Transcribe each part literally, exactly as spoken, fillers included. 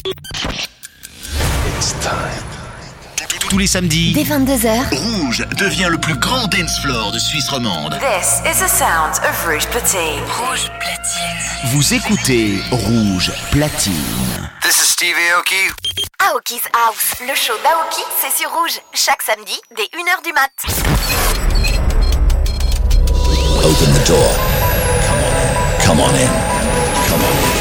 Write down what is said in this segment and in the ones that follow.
It's time. Tous les samedis, dès vingt-deux heures, Rouge devient le plus grand dance floor de Suisse romande. This is the sound of Rouge Platine. Rouge Platine. Vous écoutez Rouge Platine. This is Steve Aoki. Aoki's House, le show d'Aoki, c'est sur Rouge, chaque samedi, dès une heure du mat. Open the door. Come on in. Come on in. Come on in.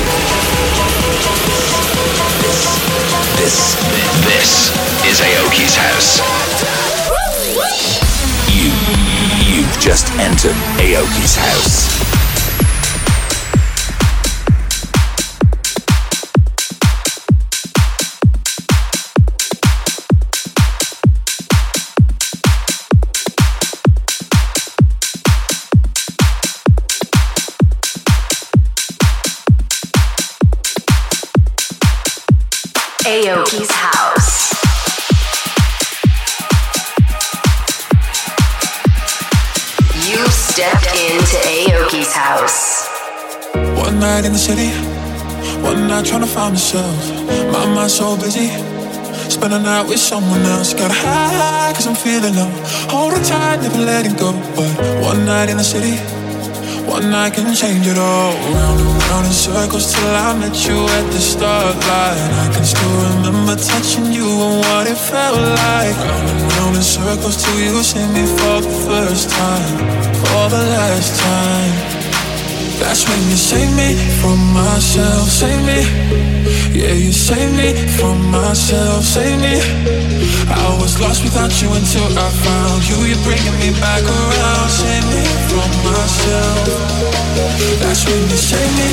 This, this, this is Aoki's house. You, you've just entered Aoki's house. Aoki's house. You stepped into Aoki's house. One night in the city, one night trying to find myself. My mind's so busy, spend a night with someone else. Gotta hide cause I'm feeling low. Hold on tight, never letting go. But one night in the city, one night can change it all. Round and round in circles till I met you at the start line. I can still remember touching you and what it felt like. Round and round in circles till you see me for the first time, for the last time. That's when you save me from myself, save me. Yeah, you save me from myself, save me. I was lost without you until I found you. You're bringing me back around, save me from myself. That's when you save me.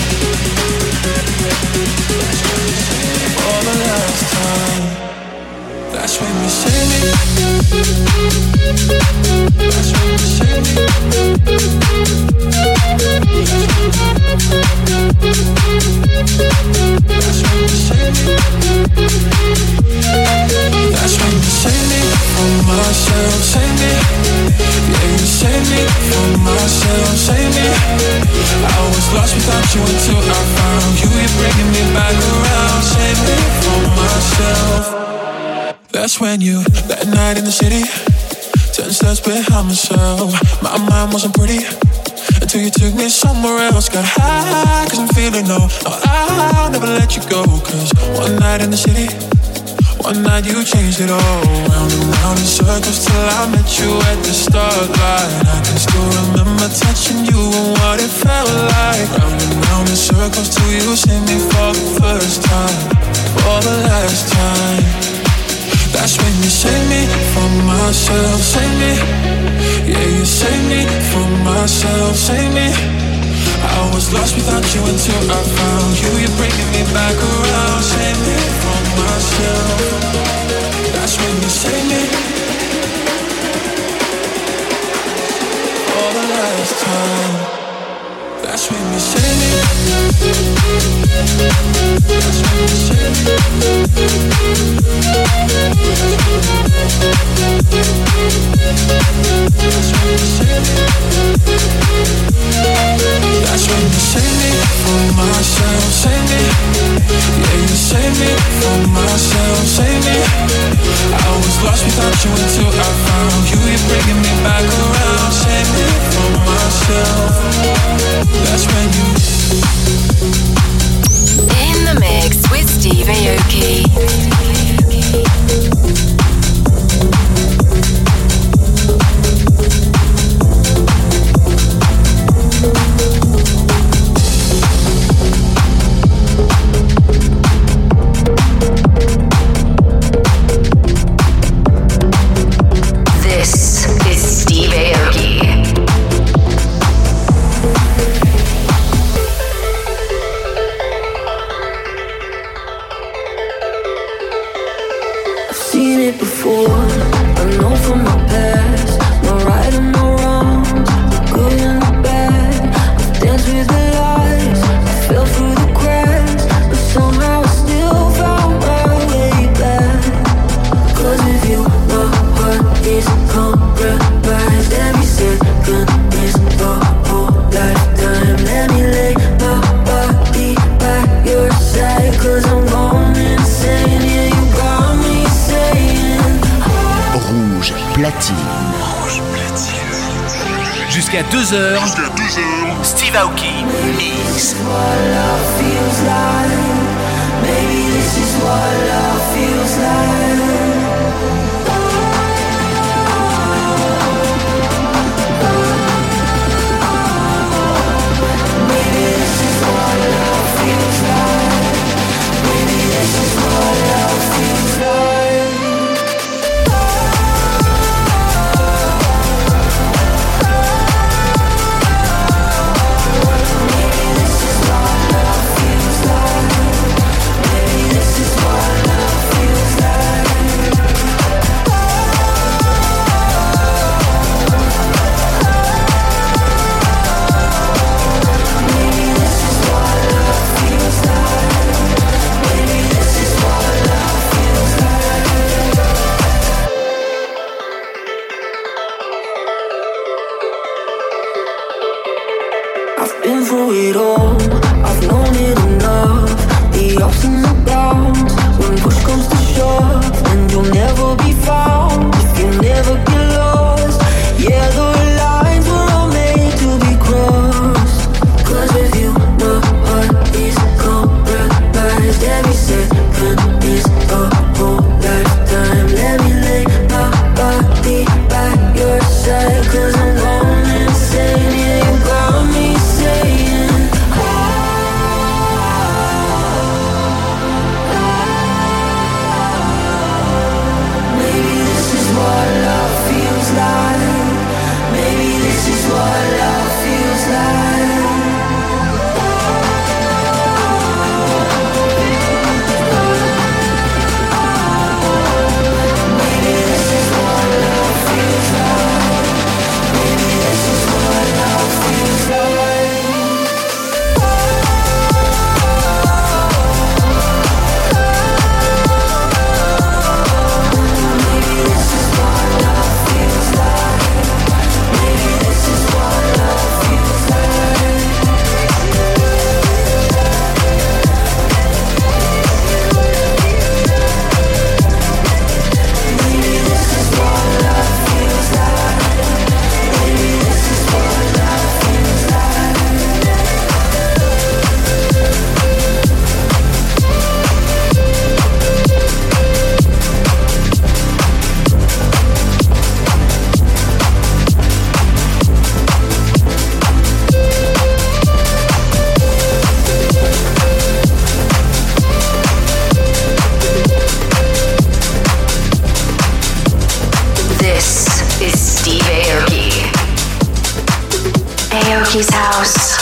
For the last time. That's when you save me. That's when you save me. That's when you save me. That's when you save me from myself, save me. Yeah, you save me from myself, save me. I was lost without you until I found you. You're bringing me back around, save me from myself. That's when you, that night in the city, ten steps behind myself. My mind wasn't pretty until you took me somewhere else. Got high cause I'm feeling low. No, I'll never let you go. Cause one night in the city, one night you changed it all. Round and round in circles till I met you at the start line. I can still remember touching you and what it felt like. Round and round in circles till you see me for the first time, for the last time. That's when you save me from myself, save me. Yeah, you save me from myself, save me. I was lost without you until I found you. You're bringing me back around, save me from myself. That's when you save me. For the last time. That's when you save me. That's when you save me. That's when you save me. That's when you save me from myself, save me. Yeah, you save me from myself, save me. I was lost without you until I found you. You're bringing me back around, save me from myself. That's when you. In the mix with Steve Aoki. This is Steve Aoki. Seen it before, I know from my past. No right and no wrongs, the good and the bad. I've danced with the lies, I fell through the cracks, but somehow I still found my way back. Cause with you, my heart is compromised. Every second is the whole lifetime. Let me lay my body by your side, cause I'm gone. platine. Rouge platine. Jusqu'à deux heures. Jusqu'à deux heures. Steve Aoki Mix. Maybe this is what love feels like. Maybe this is what love feels like. Maybe this is what love feels like. Maybe this is what love feels like. Maybe this is what love feels like. Maybe this is what love feels like. Maybe this is what love feels like. I've been through it all, I've known it enough. The ups and the downs, when push comes to shove. And you'll never be found if you never get lost. Yeah, the lines were all made to be crossed. Cause with you, my heart is compromised. Every second is a whole lifetime. Let me lay my body by your side. Cause I'm going insane, yeah, you got me saying maybe this is what love feels like. Maybe this is what love feels like. Maybe this is what love feels like. Maybe this is what love feels like. Maybe this is what love feels like. Maybe this is what love feels like. Maybe this is what love feels like. Maybe this is what love feels like. This is Steve Aoki. Aoki's house.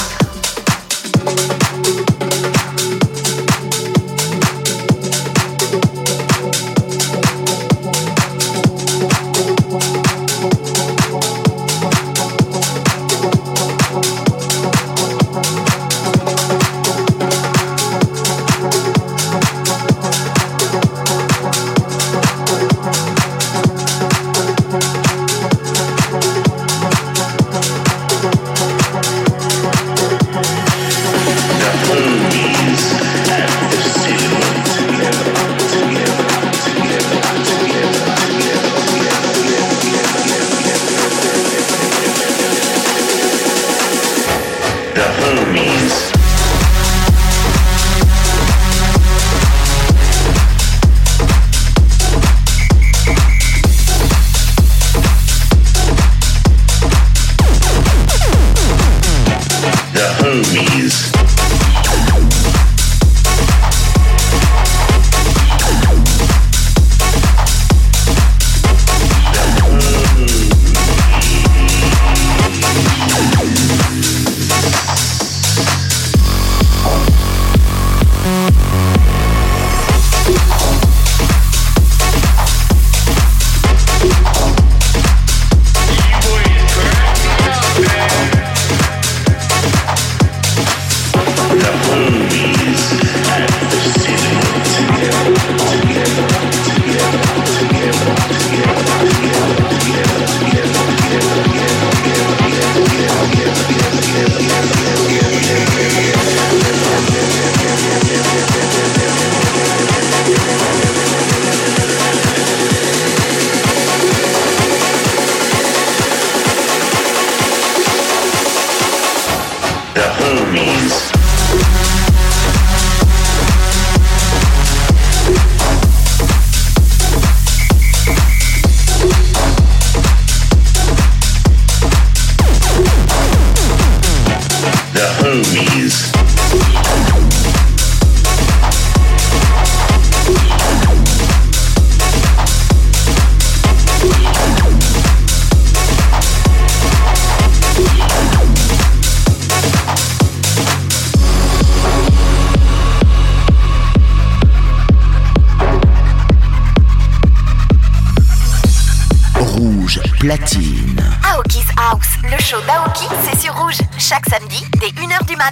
Platine. Aoki's House, le show d'Aoki, c'est sur Rouge, chaque samedi dès une heure du mat.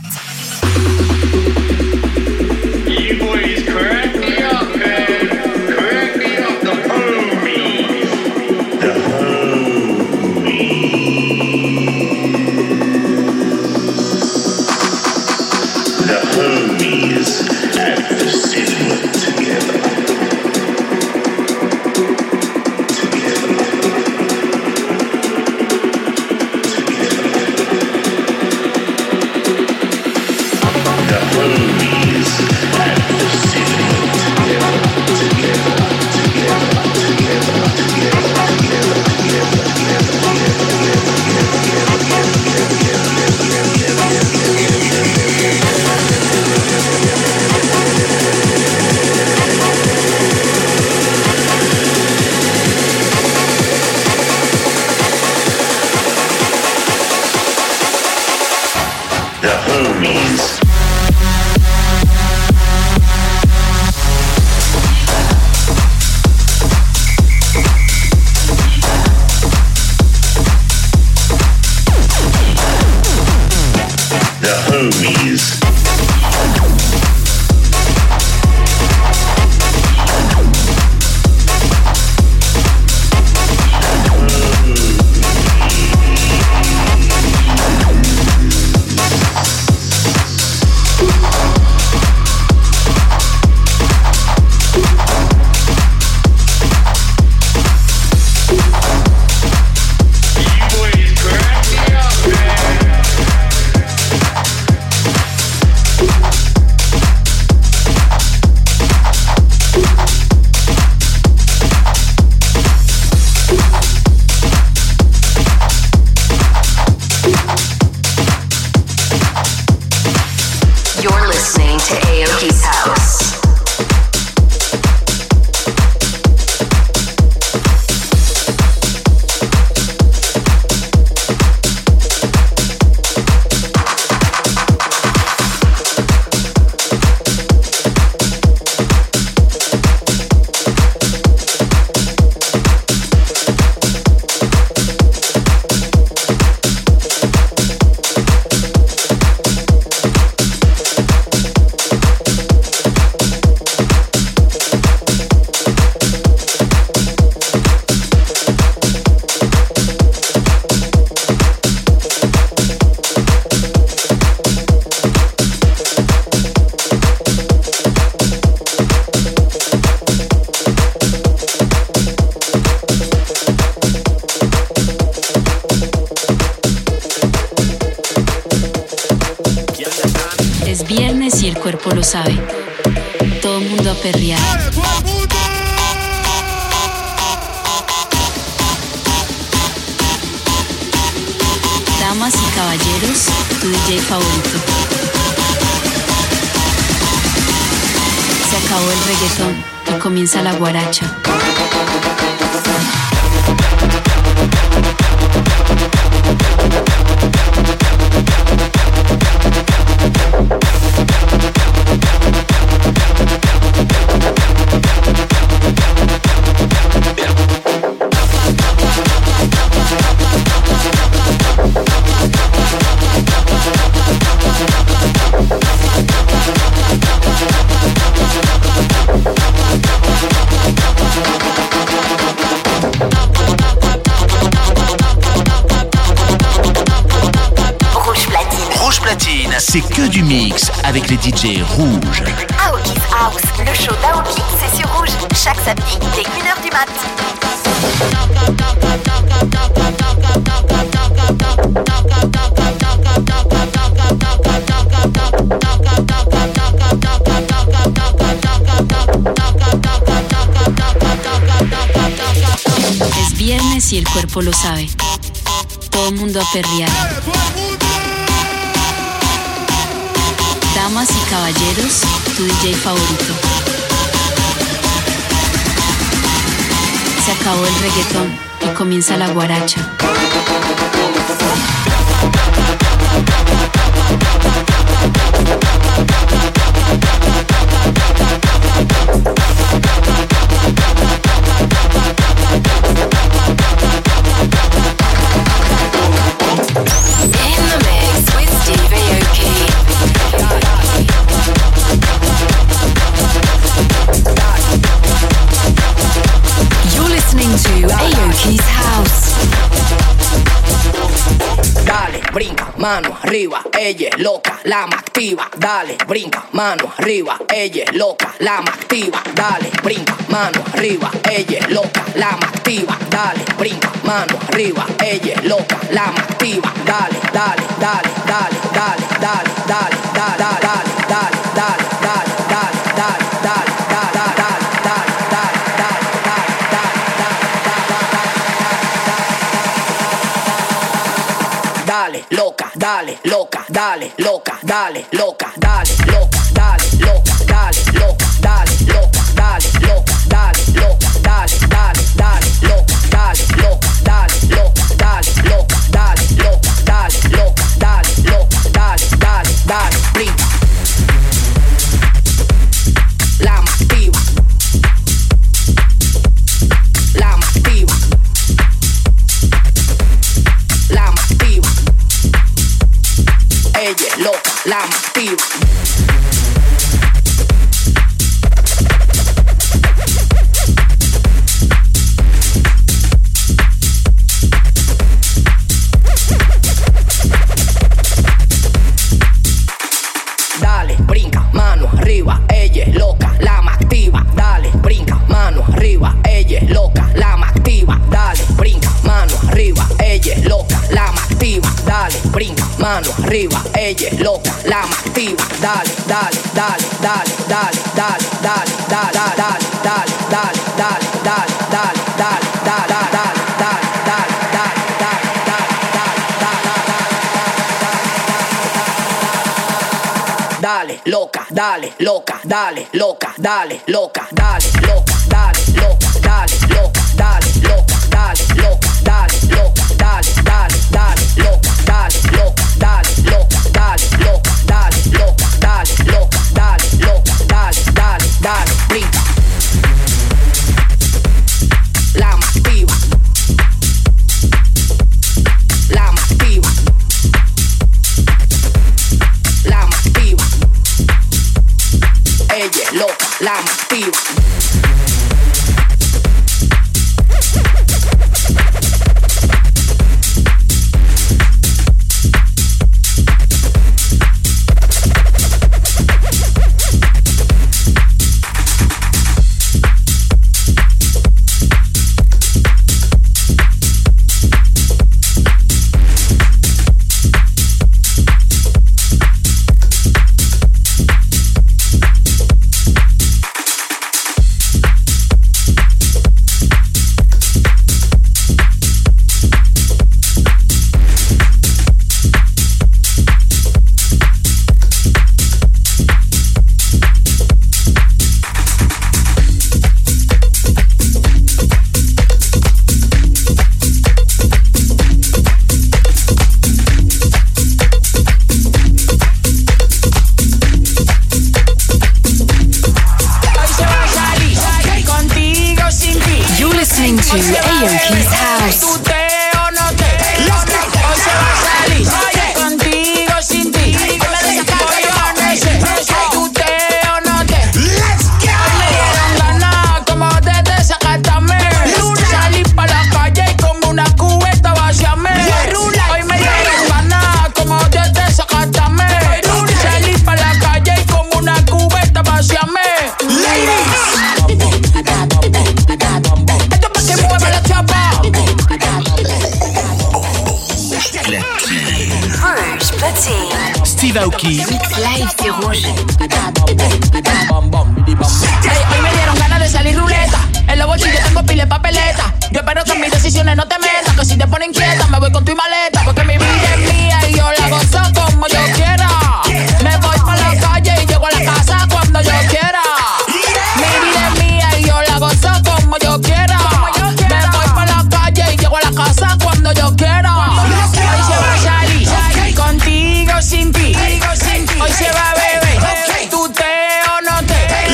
You boys crack me up, man. Crack me up, the homies. The homies. The homies at the cinema together. Lo sabe, todo el mundo a perrear. Damas y caballeros, tu D J favorito. Se acabó el reggaetón y comienza la guaracha. C'est que du mix avec les D J rouges. Aoki's House, le show d'Aoki, c'est sur Rouge, chaque samedi dès une heure du mat. Es viernes y el cuerpo lo sabe. Todo el mundo a perrear. Damas y caballeros, tu D J favorito. Se acabó el reggaetón y comienza la guaracha. Keys House. Dale, brinca, mano arriba, ella es loca, la más activa. Dale, brinca, mano arriba, ella es loca, la más activa. Dale, brinca, mano arriba, ella es loca, la más activa. Dale, brinca, mano arriba, ella es loca, la más activa. Dale, dale, dale, dale, dale, dale, dale, dale, dale, dale, dale, dale, dale, dale, dale, dale, dale. Dale, loca, dale, loca, dale, loca, dale, loca, dale, loca, dale, loca, dale, loca, dale, loca, dale, loca, dale, loca, dale, dale, dale, loca, dale, loca, dale, loca, dale, loca, dale, loca, dale, loca, dale, loca, dale, dale, dale, brinca. La más activa. La más activa. La más activa. Ella es loca, la más activa. Dale, brinca, mano arriba, ella es loca, la más activa. Dale, brinca, mano arriba, ella es loca, la más activa. Dale, brinca, mano arriba, ella es loca, la más activa. Dale, brinca, mano arriba, ella es loca, la más activa. Dale, dale, dale, dale, dale, dale, dale, dale, dale, dale, dale, dale, dale, dale, dale, dale, dale, dale, dale, loca, dale, loca, dale, loca, dale, loca, dale, loca, dale, loca, dale, loca, dale, loca, dale, loca, dale, loca, dale, dale, dale, loca, dale, loca, dale, loca, dale, loca, dale, loca, dale, loca, dale, loca, dale, dale, dale, brinca. La más activa. La más activa. La más activa. Ella es loca, la más activa. Steve Aoki. Live, c'est rouge. Hey, hoy me dieron ganas de salir ruleta. En los bolsillos tengo pile papeleta. Yo espero que en mis decisiones no te metas, que si te ponen inquieta me voy con tu maleta. Porque mi vida es mía y yo la gozo como yo quiera. Me voy pa' la calle y llego a la casa cuando yo quiera. Mi vida es mía y yo la gozo como yo quiera. Me voy pa' la calle y llego a la casa cuando yo quiera. Hoy se va a salir contigo sin ti. Hoy se va a beber, tú te o no te.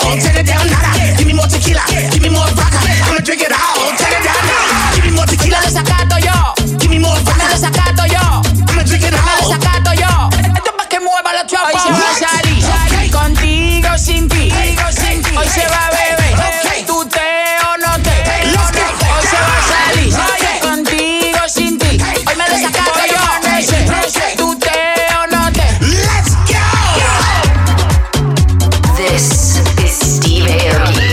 out, turn it down, nada. Give me more tequila, give me more vodka. I'ma drink it out, turn it down, nada. Give me more tequila. Me desacato yo. Give me more vodka. Me desacato yo. I'ma drink it out. Me desacato yo. Esto es pa' que mueva los chavos. Hoy se va a salir, okay. Contigo sin ti. Hoy se va a beber, okay. Tú te o no te. Let's go. Hoy se va a salir, okay. Contigo sin ti. Hoy me desacato yo. Tú te o no te. Let's go. This is Steve Aoki.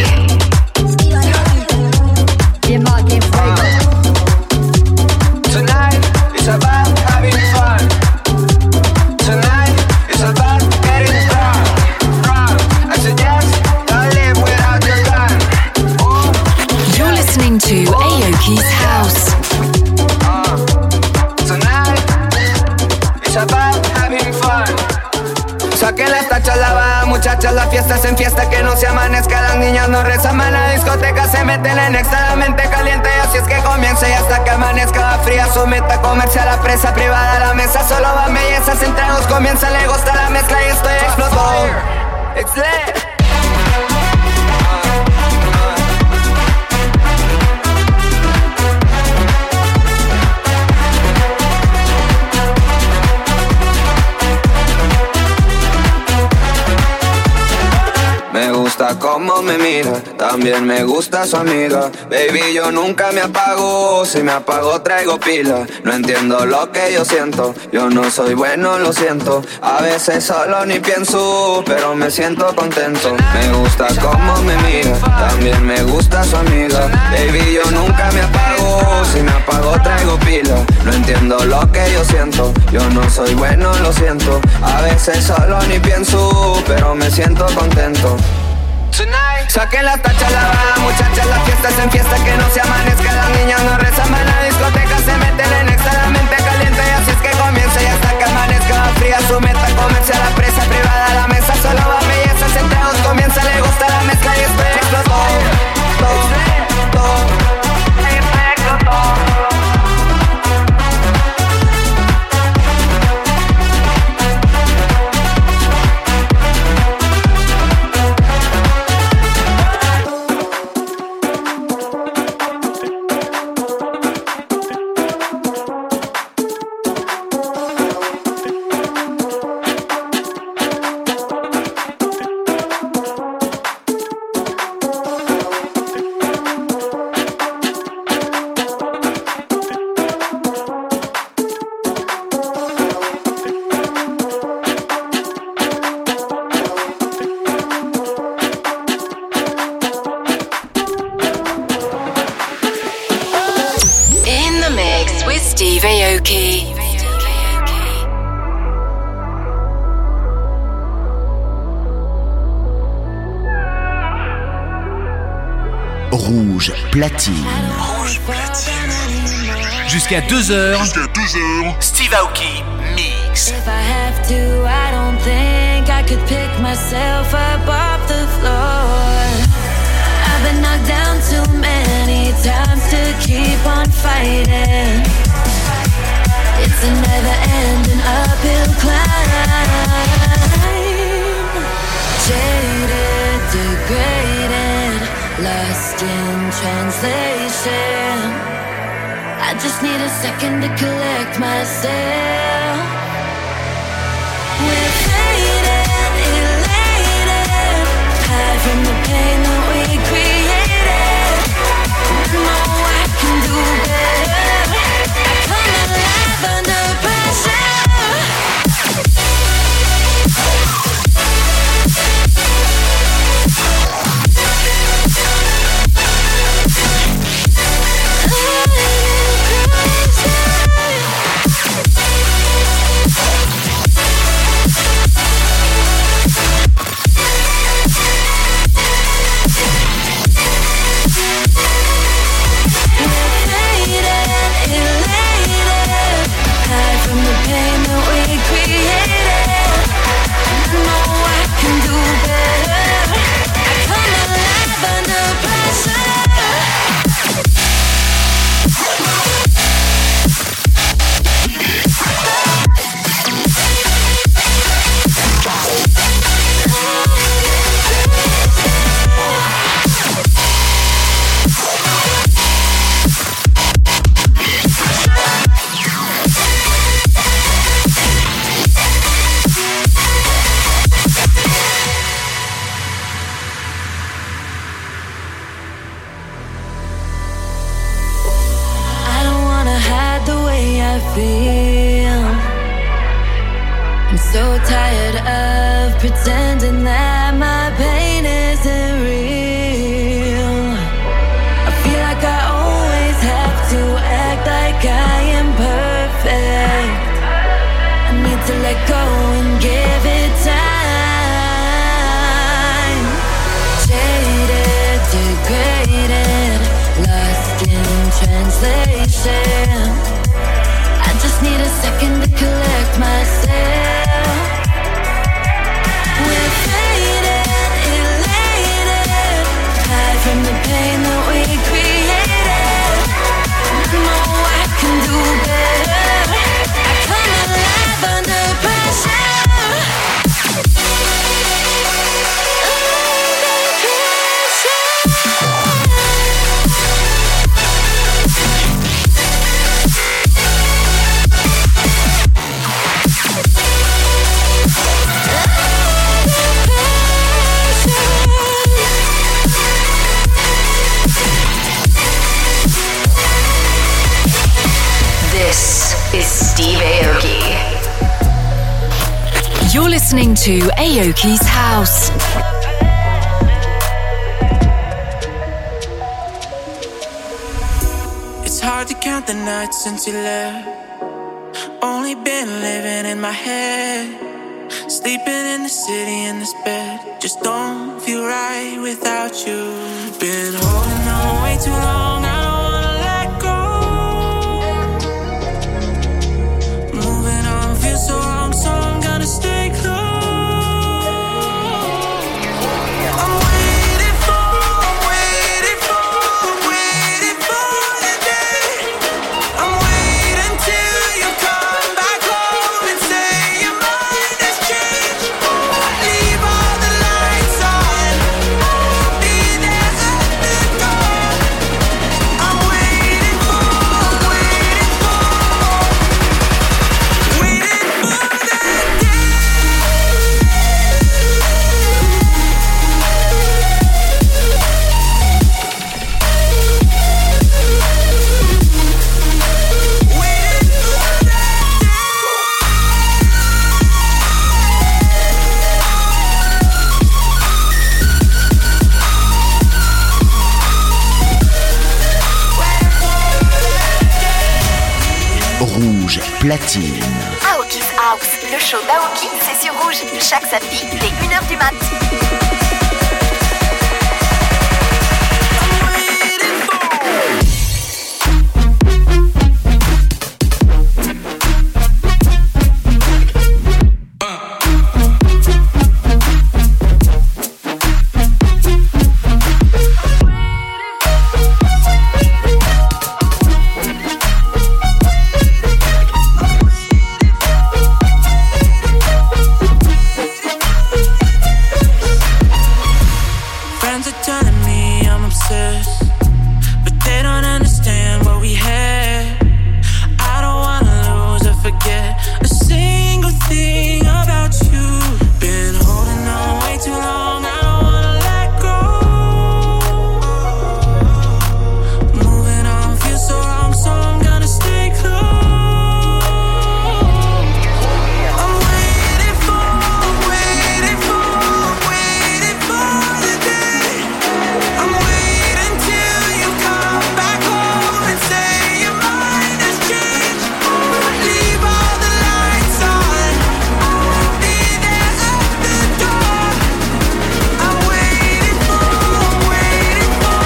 Tonight is about having fun. Tonight is about getting drunk. Drunk. I suggest don't live without your gun. Oh. You're listening to Aoki's House. Uh, tonight is about having fun. Saquen las tachas, la baja, muchachas, la fiesta es en fiesta, que no se amanezca, las niñas no rezan, la discoteca se meten en extra, la mente caliente, y así es que comienza, y hasta que amanezca va fría su meta, comerse a la presa privada, la mesa solo van bellezas, en tragos comienza, le gusta la mezcla y estoy explotado. It's lit. Me gusta cómo me mira, también me gusta su amiga. Baby, yo nunca me apago, si me apago traigo pila. No entiendo lo que yo siento, yo no soy bueno, lo siento. A veces solo ni pienso, pero me siento contento. Me gusta cómo me mira, también me gusta su amiga. Baby, yo nunca me apago, si me apago traigo pila. No entiendo lo que yo siento, yo no soy bueno, lo siento. A veces solo ni pienso, pero me siento contento. Tonight. Saquen las tachas, la baja, muchachas, la fiesta es en fiesta, que no se amanezca, las niñas no rezan, van a la discoteca, se meten en extra, la mente caliente, y así es que comienza, y hasta que amanezca va fría su meta, comerse a la presa privada, la mesa solo va bellezas, en tragos comienza, le gusta la mezcla y estoy explotado. Rouge Platine. Rouge Platine. Jusqu'à deux heures. Jusqu'à deux heures. Steve Aoki Mix. If I have to, I don't think I could pick myself up off the floor. I've been knocked down too many times to keep on fighting. It's a never-ending uphill climb. Jaded, degraded, lost in translation. I just need a second to collect myself. We're faded, elated, hide from the pain that we created. I know I can do better. I come alive under pressure. second to collect myself. We're faded, elated, hide from the pain that we created. I know I can do better. I come alive under pressure. This is Steve Aoki. You're listening to Aoki's House. It's hard to count the nights since you left. Only been living in my head. Sleeping in the city in this bed. Just don't feel right without you. Been holding on way too long. I don't wanna let go. Moving on feels so wrong, so I'm gonna stay close. I'm waiting for, I'm waiting for, I'm waiting for the day. I'm waiting till you come back home and say your mind has changed. Leave all the lights on. I'll be there at the door. I'm waiting for, I'm waiting for, waiting for that day. Rouge platine. Aoki's House, le show d'Aoki, c'est sur Rouge, chaque samedi dès une heure du mat. Friends are telling me I'm obsessed, but they don't understand what we had. I don't wanna lose or forget a single thing about you. Been holding on way too long, I don't wanna let go. Moving on feels so wrong, so I'm gonna stay close. I'm waiting for, waiting for, waiting for the day. I'm waiting till you come back home and say your mind has changed. Leave all the lights on. I'll be there at the door. I'm waiting for, waiting for,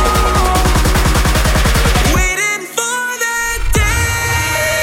waiting for that day.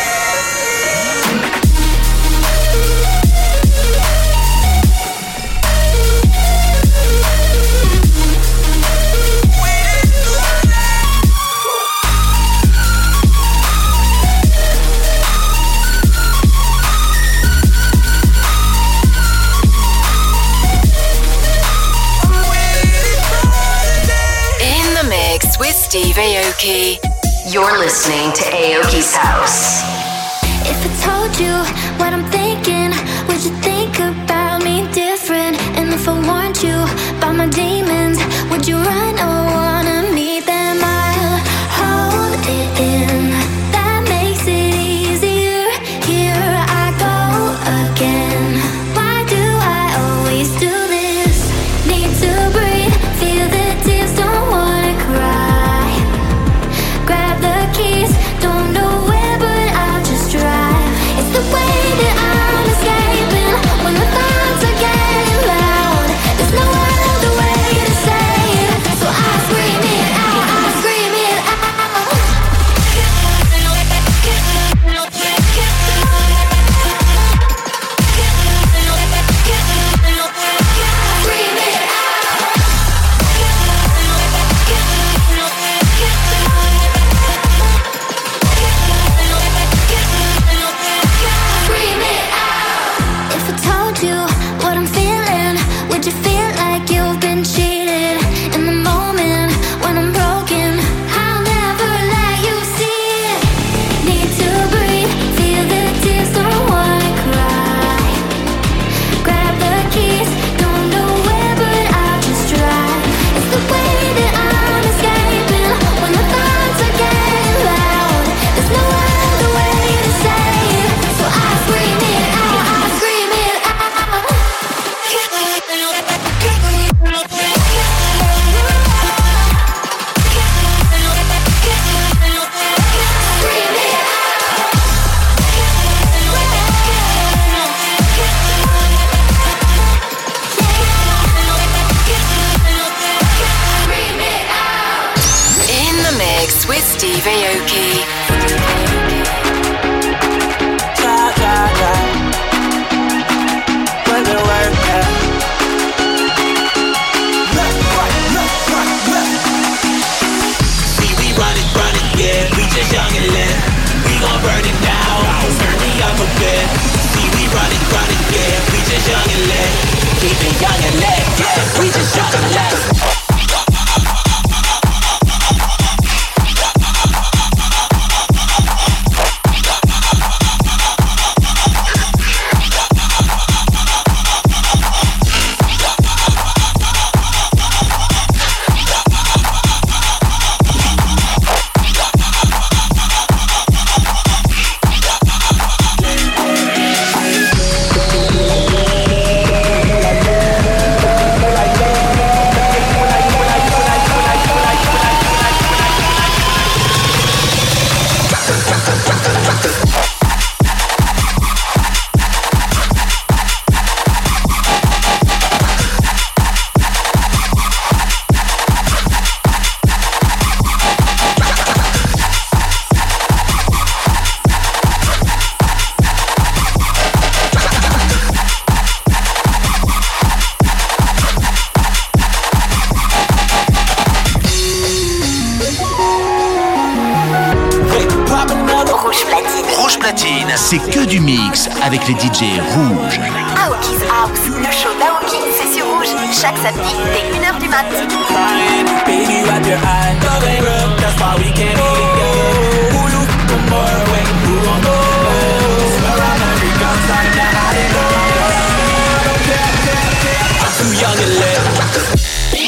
In the mix with Steve Aoki. You're listening to Aoki's House. If I told you what I'm thinking, would you think about me different? And if I warned you about my demons, would you run or wanna meet them? I'll hold it in. That makes it easier. Here I go again. Why do I always do this? Need to breathe, feel the tears, don't wanna cry. Grab the keys, don't know where, but I'll just drive. It's the way that I'm escaping when we're Steve Aoki. Yeah, yeah, yeah. When they work, yeah. Left, right, left, right, left. See, we run it, run it, yeah. We just young and lit. We gon' burn it down. Turn me up a bit. See, we run it, run it, yeah. We just young and lit. Keep it young and lit, yeah. We just young and lit. C'est que du mix avec les D J rouges. Aoki's House, le show d'Aoki, c'est sur Rouge, chaque samedi dès une heure du mat. Baby, wipe your eyes, love ain't real, that's why we can't be together. Who you from far away, who gon' go? Swear on every gun sign that I didn't go. I don't care, care, care, I'm too young to live.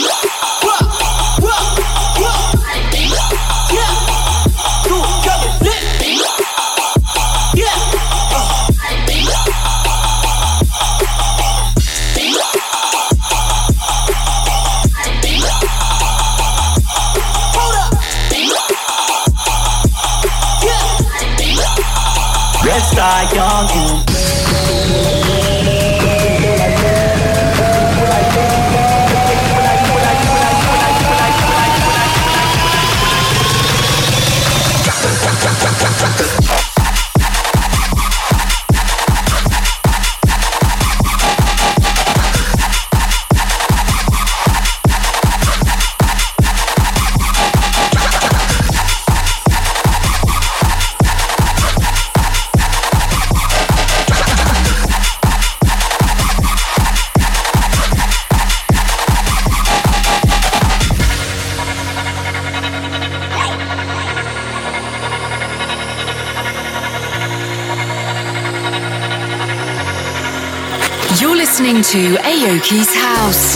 Let's start young and You're listening to Aoki's House.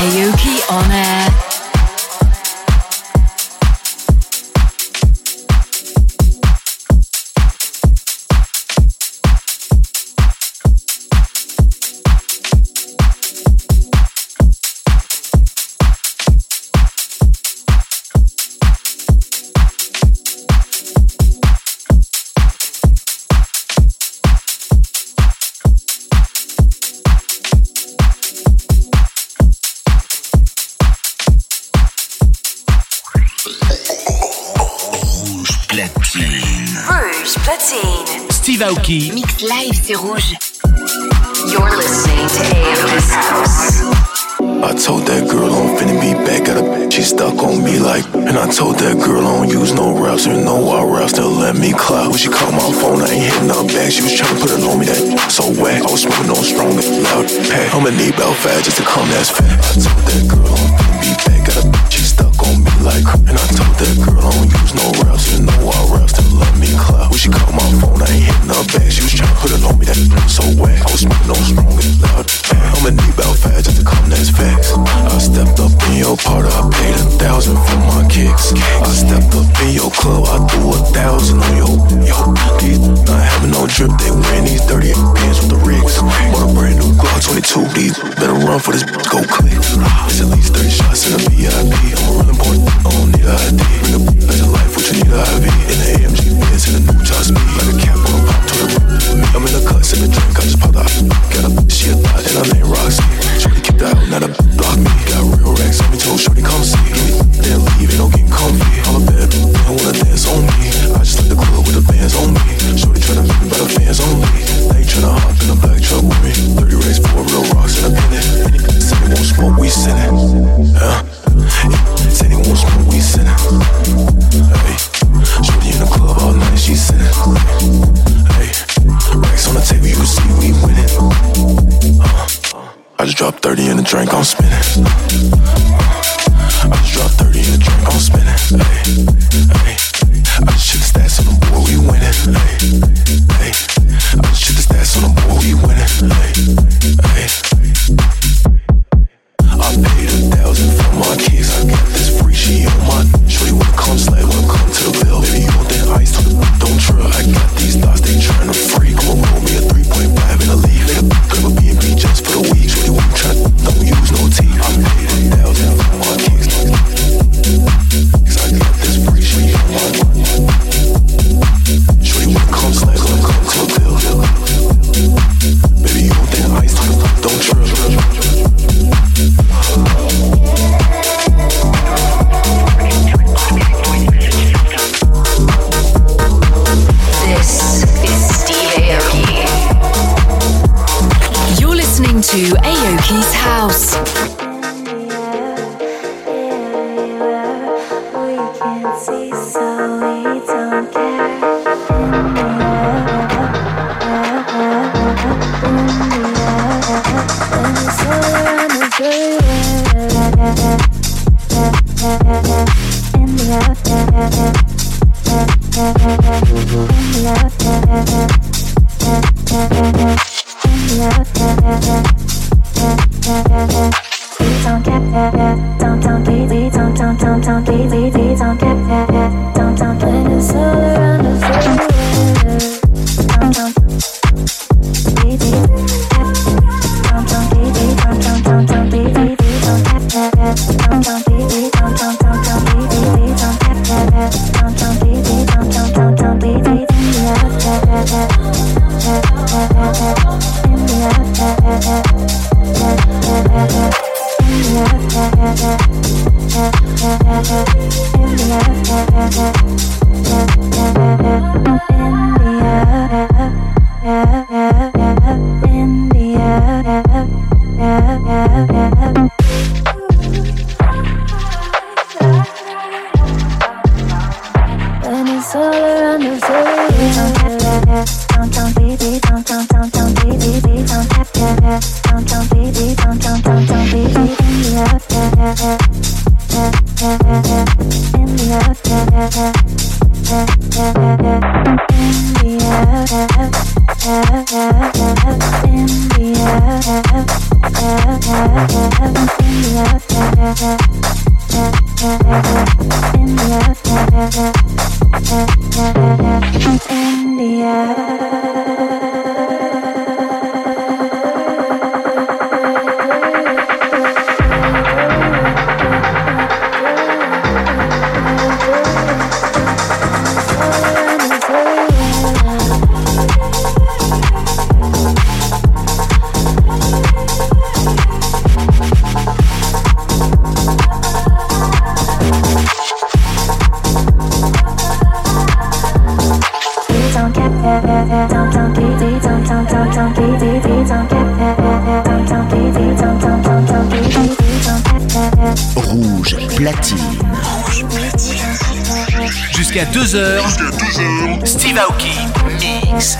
Aoki on air. Steve Aoki. Mix live, c'est rouge. You're listening to Aoki's House. I told that girl I'm finna be back at her. She stuck on me like, and I told that girl I don't use no raps. You know why raps still let me clout. When she called my phone, I ain't hitting her back. She was trying to put it on me, that so whack. I was smoking on strong and loud pack. I'ma need about fat just to come, that's fat. I told that girl I'm finna be back at her. She stuck on me like, and I told that girl I don't use no raps. You know why raps still let me clout. When she called my phone, I ain't hitting her back. She was trying to put it on me, that so whack. I was smoking on strong and loud pack. I'ma need about fat just to come, that's facts. I stepped up in your party, I paid a thousand for my kicks. I stepped up in your club, I threw a thousand on your, yo, these not having no drip, they wearing these dirty pants with the rigs. Bought a brand new Glock twenty-two, these better run for this, go click. It's at least thirty shots in a V I P, I'm a real important, I don't need a I D. Bring a back to life, what you need a I V. In the A M G Benz, in the new top speed, like a cap on a pop to the roof. I'm in the cut, sipping drink, I just popped out. Got a, she a thought, and her name Roxy. Shorty kicked out, now the block me. Got real racks on me, told shorty come see me. Then leave, ain't no getting comfy. I'm a bad bitch, they don't wanna dance on me. I just like the club with the bands on me. Shorty tryna make me by the fans on me. They ain't tryna hop in a black truck with me. thirty racks for real rocks in a minute. Say they won't smoke, we send it. Huh? Say they won't smoke, we send it. Hey, shorty in the club all night, she send it. Hey, racks on the table, you can see we winning. Huh? I just dropped thirty in the drink, I'm spinning. I just dropped thirty in the drink, I'm spinning. Hey, hey. I just check the stats on the board, we winning. Hey, hey. I just check the stats on the board, we winning. Hey, hey. I paid a thousand for my kicks. I got this free, she on my. Shorty wanna come slide, wanna come to the bill. Baby, you want that ice, don't try. I got these thoughts, they tryna freak. I'ma roll me a three point five in a leaf. Nigga, grab a B and B just for the week. Shorty wanna try, don't use no tea. I paid a thousand for my kicks. Cause I got this free, she on my. Shorty wanna come slide, wanna come to the bill. Baby, you want that ice, don't try. This is Steve Aoki. You're listening to Aoki's House. India, Rouge platine. Jusqu'à deux heures, Steve Aoki mix.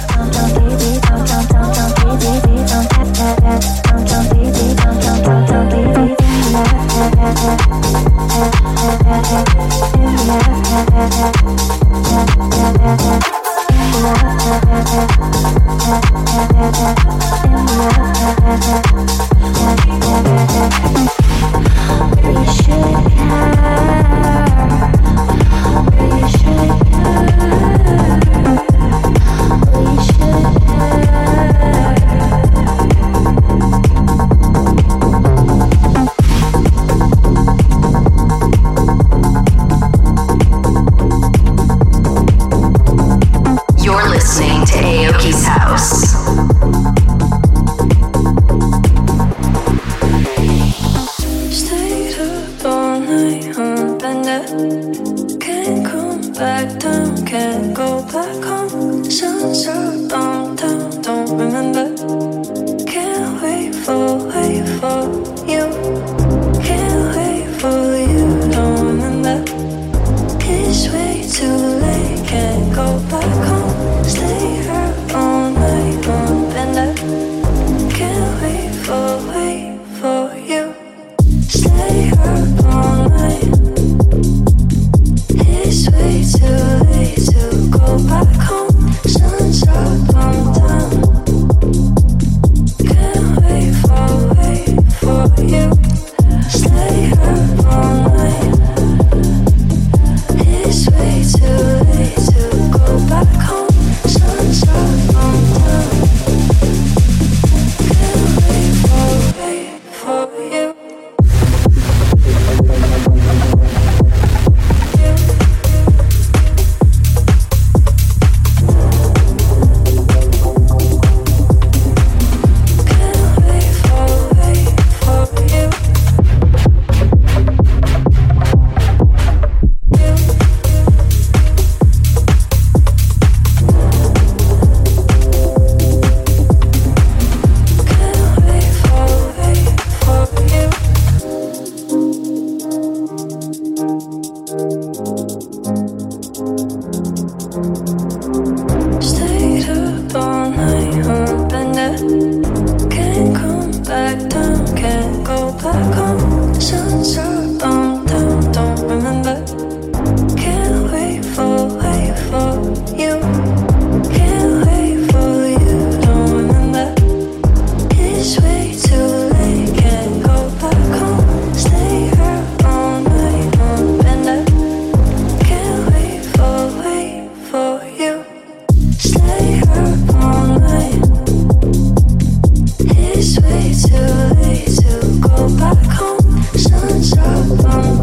It's way too late to go back home. Sun's up on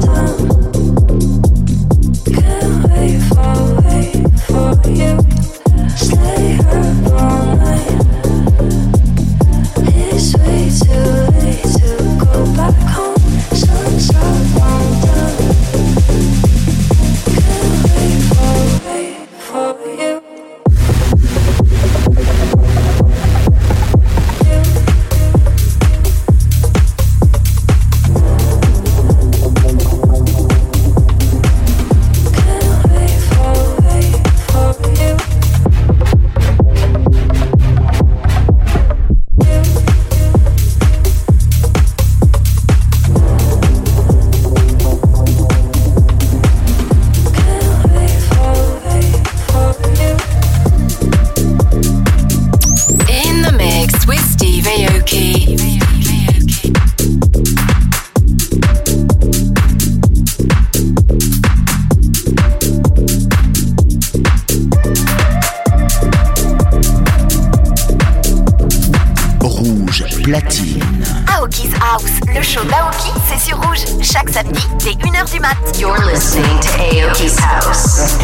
House, le show d'Aoki, c'est sur Rouge, chaque samedi dès une heure du mat. You're listening to Aoki's House.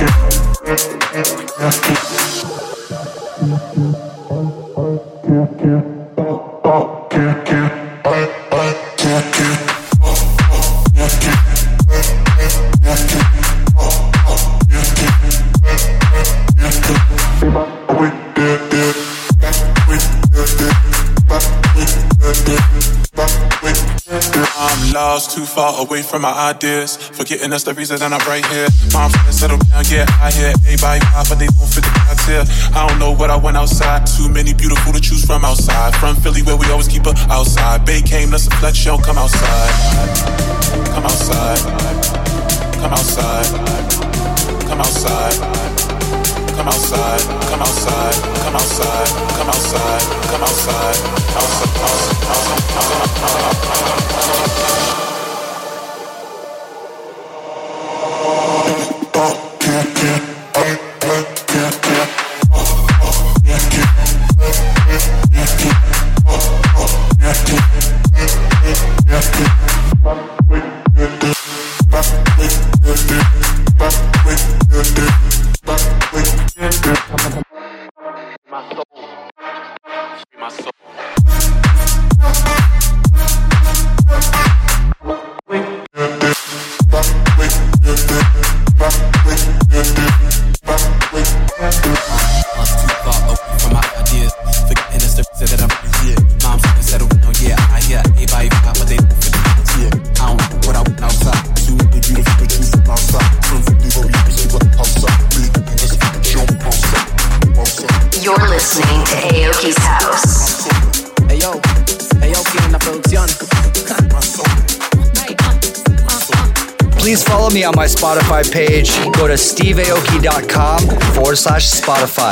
I'm lost, too far away from my ideas. Forgetting that's the reason that I'm right here. Mom friends settle down, yeah, I hear everybody pop, but they don't fit the criteria. I don't know what I went outside. Too many beautiful to choose from outside. From Philly where we always keep her outside. Bay came, let's flex, show, come outside. Come outside. Come outside. Come outside. Come outside. Come outside. Come outside. Come outside. Come outside. Outside. Outside. Outside. Me on my Spotify page. Go to steveaoki.com forward slash Spotify.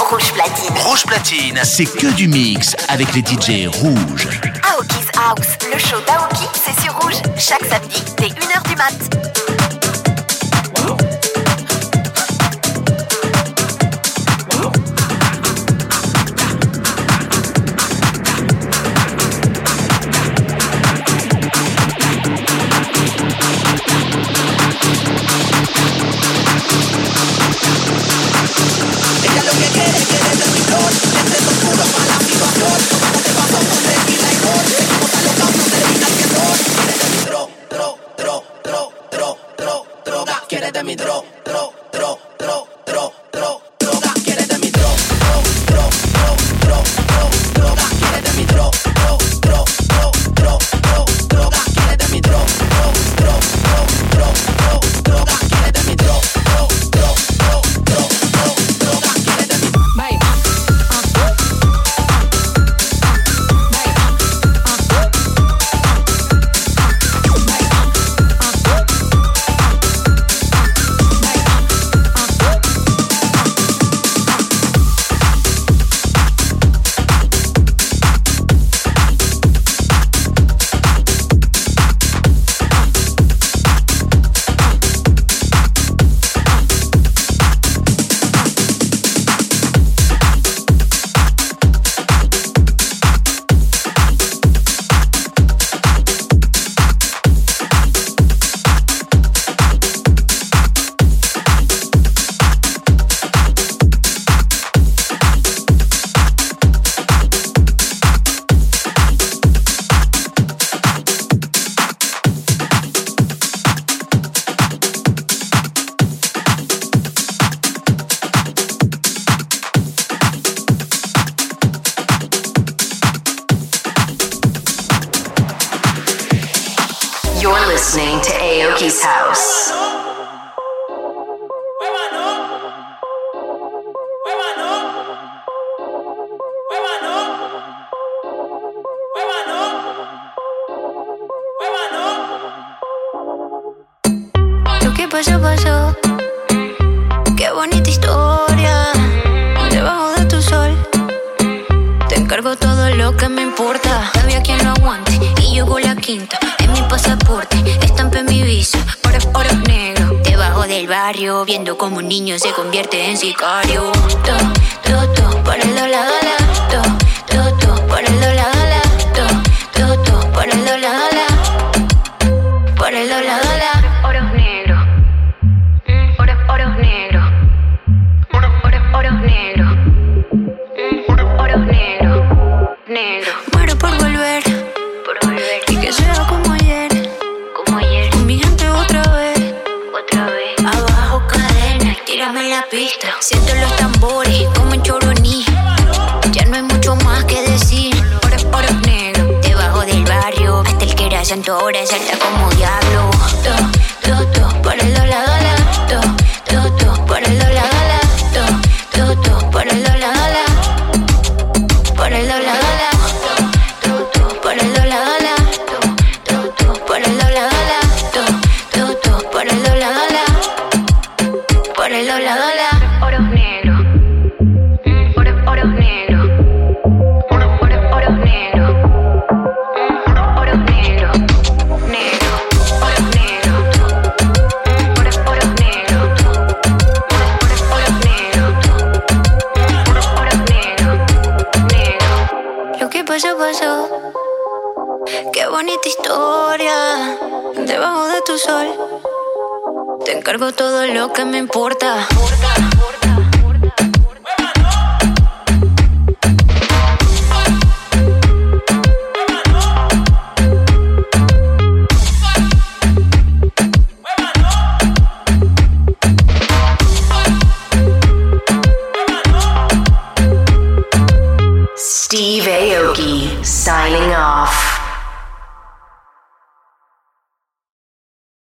C'est que du mix avec les D J rouges. Aoki's House, Le show d'Aoki, c'est sur Rouge, chaque samedi dès une heure du mat. Quieres de mi dro, dro, dro, dro, dro, dro, droga. Quieres de mi dro, dro, dro, dro, dro, dro, droga. Quieres de mi dro, dro, dro, dro, dro, dro, droga. Quieres de mi dro, dro, dro, dro, dro, dro, droga. Quieres de mi dro, dro, dro, dro, dro, dro, droga. Quieres de mi bye. You're listening to Aoki's House. Lo que pasó, pasó. Qué bonita historia. Debajo de tu sol te encargo todo lo que me importa. Había quien lo aguante y llegó la quinta. En mi pasaporte estampé mi visa. Oro, oro negro. Debajo del barrio, viendo como un niño se convierte en sicario. To, to, to, por el dólar, dólar. To, to, to, por el dólar, dólar. To, to, to, por el dólar, dólar. Por el dólar, dólar. Oro negro. Oro, oro negro. Oro, oro, oro negro. Oro negro. Negro. Muero por volver. Por volver. Y que sea como ayer. Como ayer. Con mi gente otra vez. Otra vez. Abajo cadena, tírame la pista. Siento los tambores como en Choroní. Ya no hay mucho más que decir. Oro, oro negro. Debajo del barrio. Hasta el que era santo ahora salta como diablo. To, to, to, por el dólar, dólar. To, to, to, por el dólar, dólar. To, to, to, por el dólar, dólar. Por el dólar, dólar. To, to, por el dólar, dólar. To, to, por el dólar, dólar. To, to, to, por el dólar, dólar. Por el dólar, dólar. Oro negro. Oro, oro negro. Oro, oro, oro negro. Oro negro. Negro. Oro negro. Oro, oro negro. Oro, oro negro. Oro, oro negro. Negro. Lo que pasó, pasó. Qué bonita historia. Debajo de tu sol te encargo todo lo que me importa. Steve Aoki signing off.